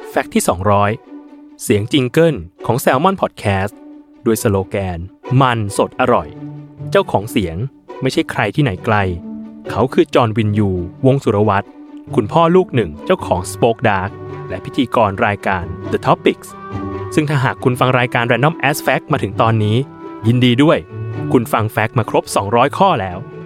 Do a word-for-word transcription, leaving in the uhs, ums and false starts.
แฟกต์ที่สองร้อยเสียงจิงเกิลของ Salmon Podcast ด้วยสโลแกนมันสดอร่อยเจ้าของเสียงไม่ใช่ใครที่ไหนไกลเขาคือจอห์นวินยูวงศ์สุรวัตรคุณพ่อลูกหนึ่งเจ้าของ Spoke Dark และพิธีกรรายการ The Topics ซึ่งถ้าหากคุณฟังรายการ Random as Fact มาถึงตอนนี้ยินดีด้วยคุณฟังแฟกต์มาครบสองร้อยข้อแล้ว